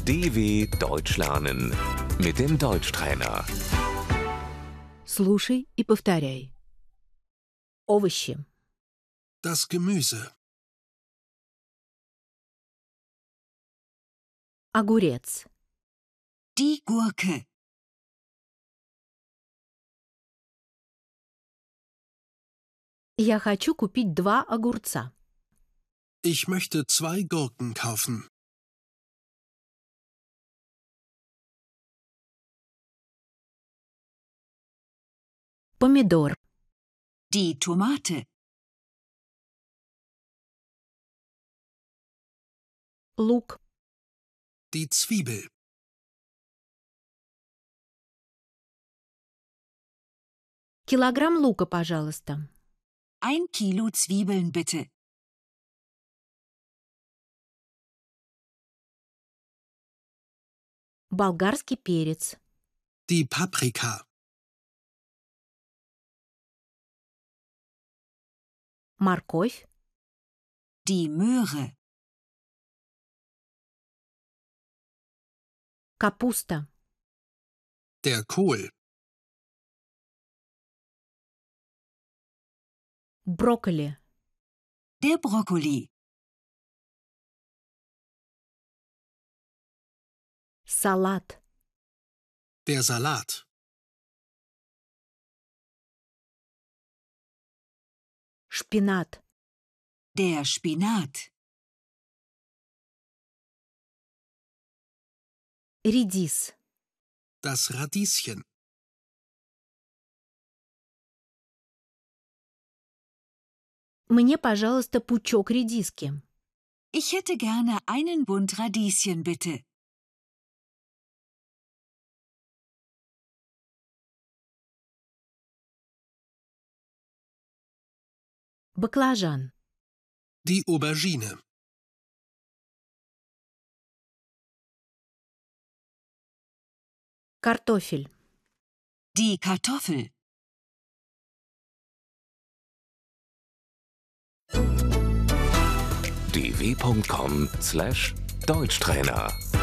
DW Deutsch lernen mit dem Deutschtrainer. Слушай и повторяй. Овощи, Das Gemüse, огурец, Die Gurke. Я хочу купить 2 огурца. ich möchte 2 Gurken kaufen. Помидор, Die Tomate. лук, Die Zwiebel, килограмм лука, пожалуйста. 1 Kilo Zwiebeln bitte. Болгарский перец, die Paprika, морковь, Die Möhre. капуста, der Kohl, брокколи, Der Brokkoli. салат, der Salat, шпинат, Der Spinat. редис, das Radieschen, мне, пожалуйста, пучок редиски. Ich hätte gerne einen Bund Radieschen bitte. Баклажан, die Aubergine, картофель, Die Kartoffel. dw.com/Deutschtrainer